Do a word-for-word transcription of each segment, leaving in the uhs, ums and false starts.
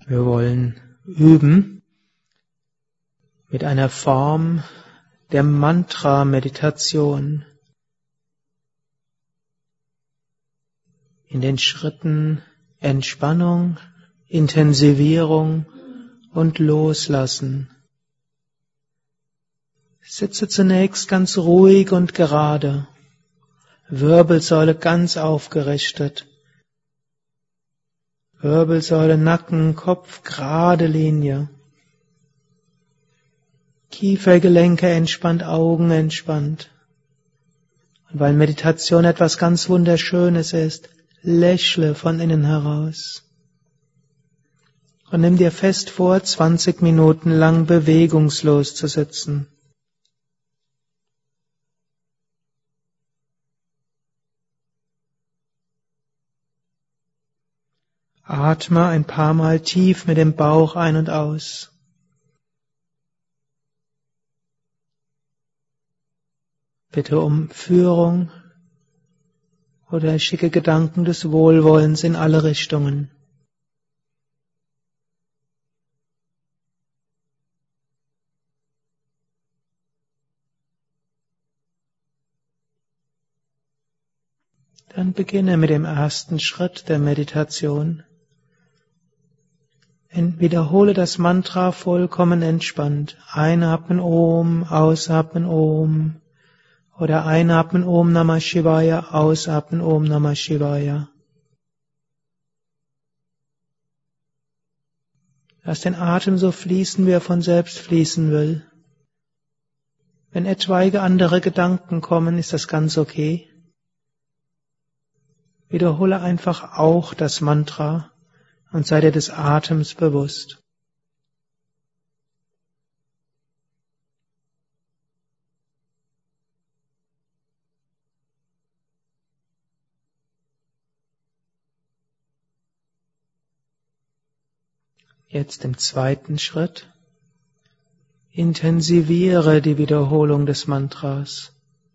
Wir wollen üben mit einer Form der Mantra-Meditation. In den Schritten Entspannung, Intensivierung und Loslassen. Sitze zunächst ganz ruhig und gerade, Wirbelsäule ganz aufgerichtet. Wirbelsäule, Nacken, Kopf, gerade Linie. Kiefergelenke entspannt, Augen entspannt. Und weil Meditation etwas ganz Wunderschönes ist, lächle von innen heraus. Und nimm dir fest vor, zwanzig Minuten lang bewegungslos zu sitzen. Atme ein paar Mal tief mit dem Bauch ein und aus. Bitte um Führung oder schicke Gedanken des Wohlwollens in alle Richtungen. Dann beginne mit dem ersten Schritt der Meditation. Wiederhole das Mantra vollkommen entspannt. Einatmen Om, ausatmen Om. Oder einatmen Om Namah Shivaya, ausatmen Om Namah Shivaya. Lass den Atem so fließen, wie er von selbst fließen will. Wenn etwaige andere Gedanken kommen, ist das ganz okay. Wiederhole einfach auch das Mantra und sei dir des Atems bewusst. Jetzt im zweiten Schritt intensiviere die Wiederholung des Mantras.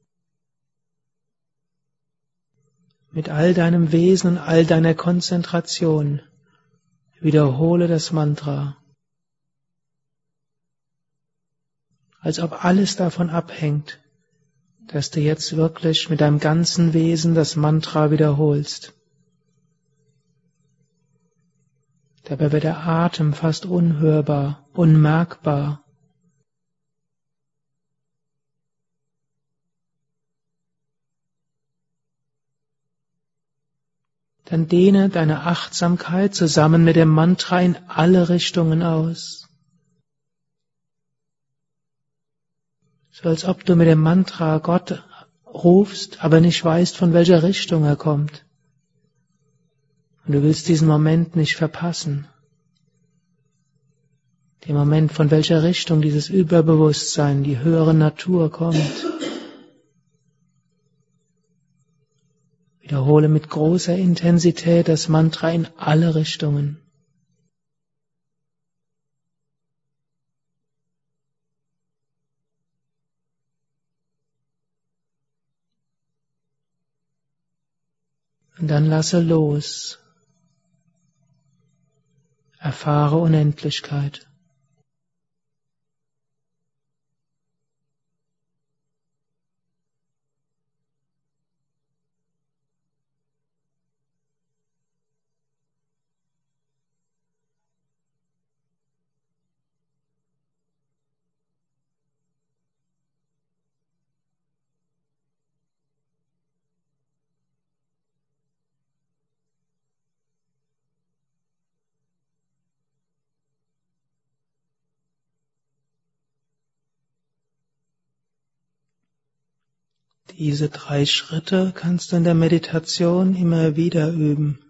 Mit all deinem Wesen und all deiner Konzentration wiederhole das Mantra, als ob alles davon abhängt, dass du jetzt wirklich mit deinem ganzen Wesen das Mantra wiederholst. Dabei wird der Atem fast unhörbar, unmerkbar. Dann dehne deine Achtsamkeit zusammen mit dem Mantra in alle Richtungen aus. So als ob du mit dem Mantra Gott rufst, aber nicht weißt, von welcher Richtung er kommt. Und du willst diesen Moment nicht verpassen. Den Moment, von welcher Richtung dieses Überbewusstsein, die höhere Natur kommt. Wiederhole mit großer Intensität das Mantra in alle Richtungen. Und dann lasse los. Erfahre Unendlichkeit. Diese drei Schritte kannst du in der Meditation immer wieder üben.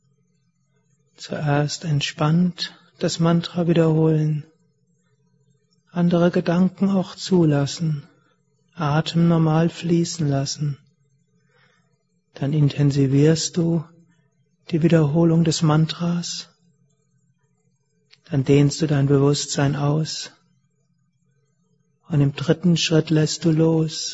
Zuerst entspannt das Mantra wiederholen, andere Gedanken auch zulassen, Atem normal fließen lassen. Dann intensivierst du die Wiederholung des Mantras, dann dehnst du dein Bewusstsein aus und im dritten Schritt lässt du los.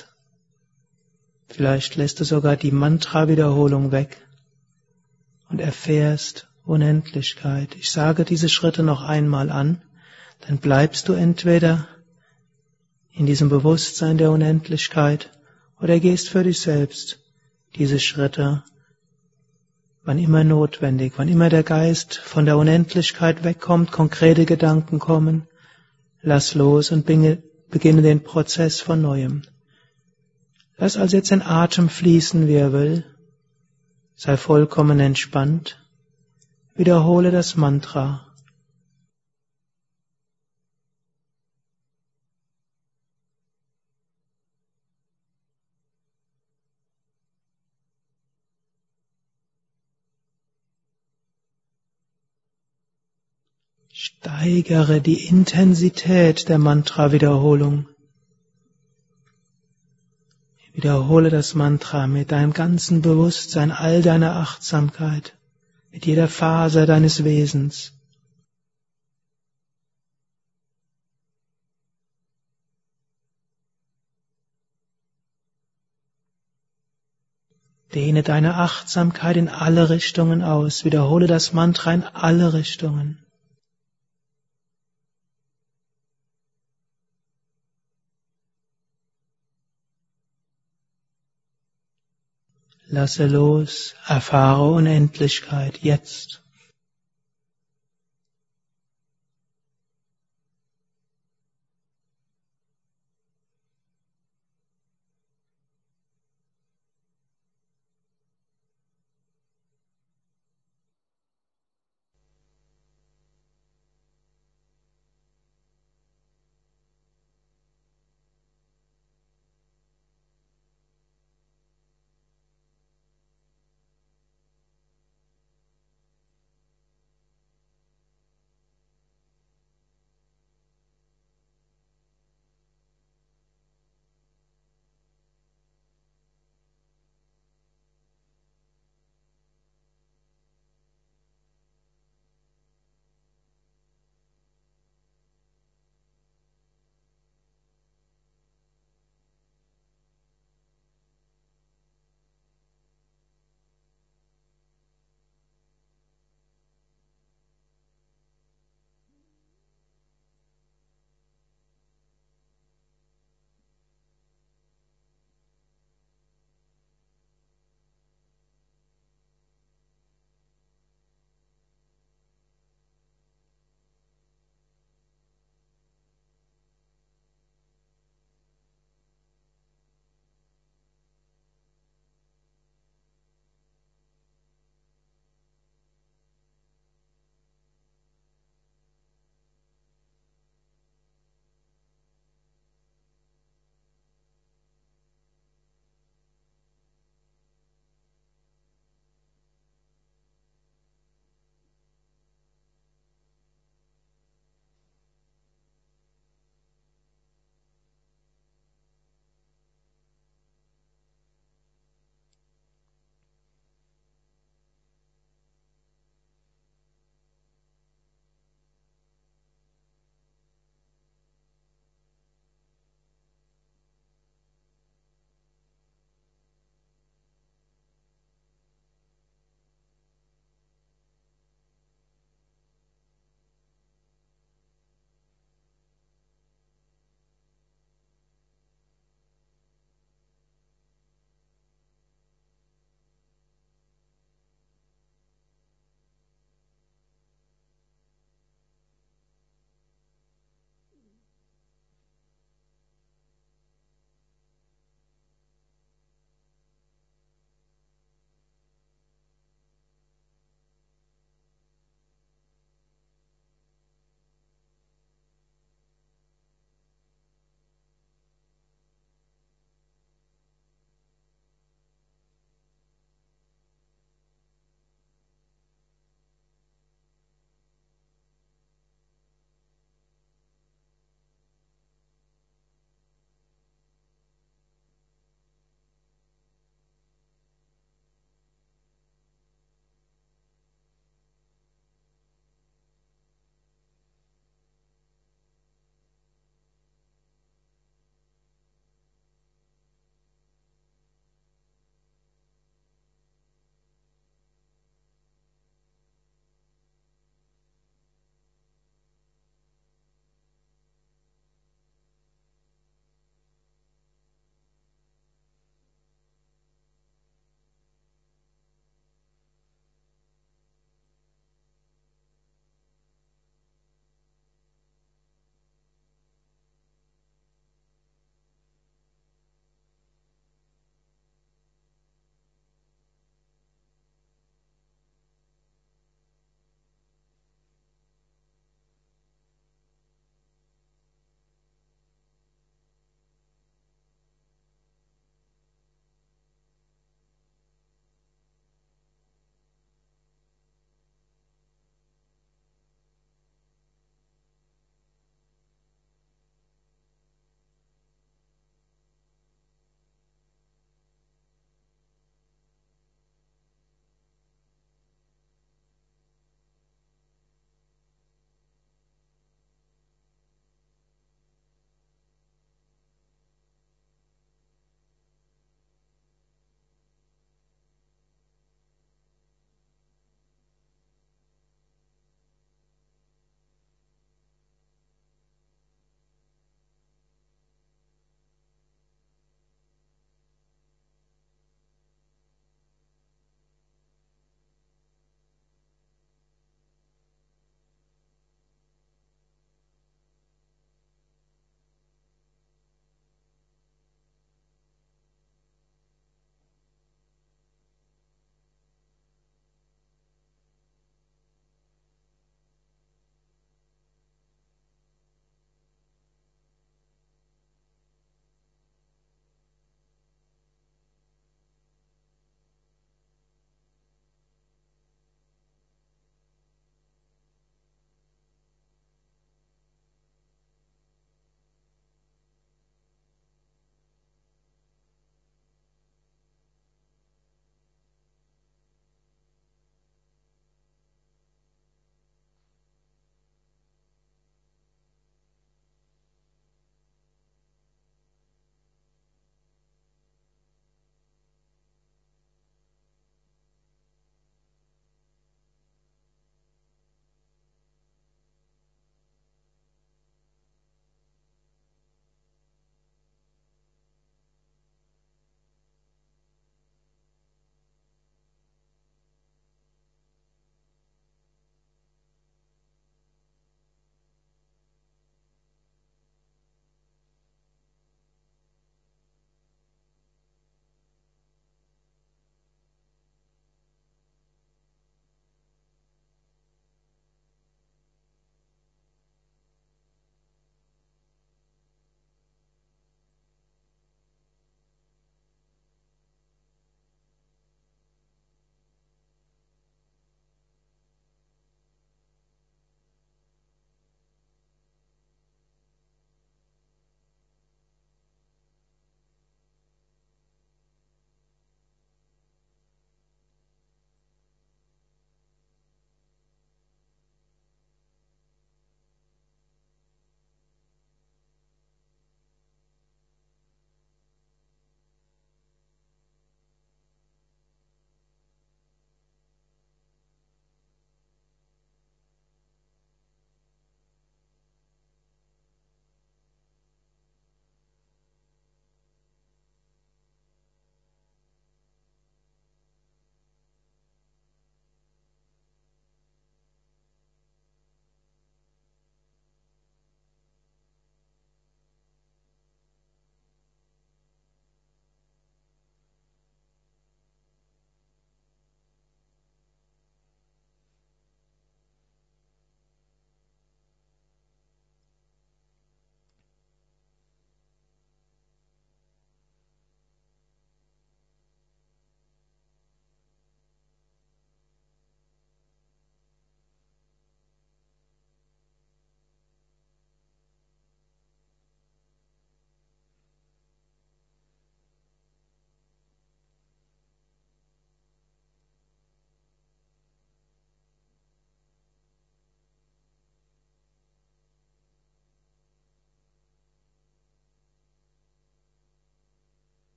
Vielleicht lässt du sogar die Mantra-Wiederholung weg und erfährst Unendlichkeit. Ich sage diese Schritte noch einmal an, dann bleibst du entweder in diesem Bewusstsein der Unendlichkeit oder gehst für dich selbst diese Schritte, wann immer notwendig, wann immer der Geist von der Unendlichkeit wegkommt, konkrete Gedanken kommen, lass los und beginne den Prozess von Neuem. Lass also jetzt den Atem fließen, wie er will, sei vollkommen entspannt, wiederhole das Mantra. Steigere die Intensität der Mantra-Wiederholung. Wiederhole das Mantra mit deinem ganzen Bewusstsein, all deiner Achtsamkeit, mit jeder Faser deines Wesens. Dehne deine Achtsamkeit in alle Richtungen aus. Wiederhole das Mantra in alle Richtungen. Lasse los, erfahre Unendlichkeit jetzt.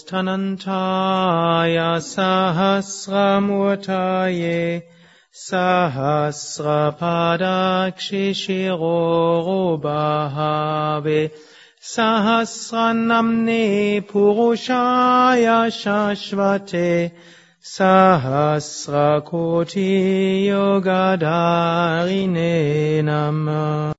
Stanantaya Sahasramurtaye Sahasrapadakshishirorobhave Sahasranamne Purushaya Shashvate Sahasrakoti Yogadarine Namah.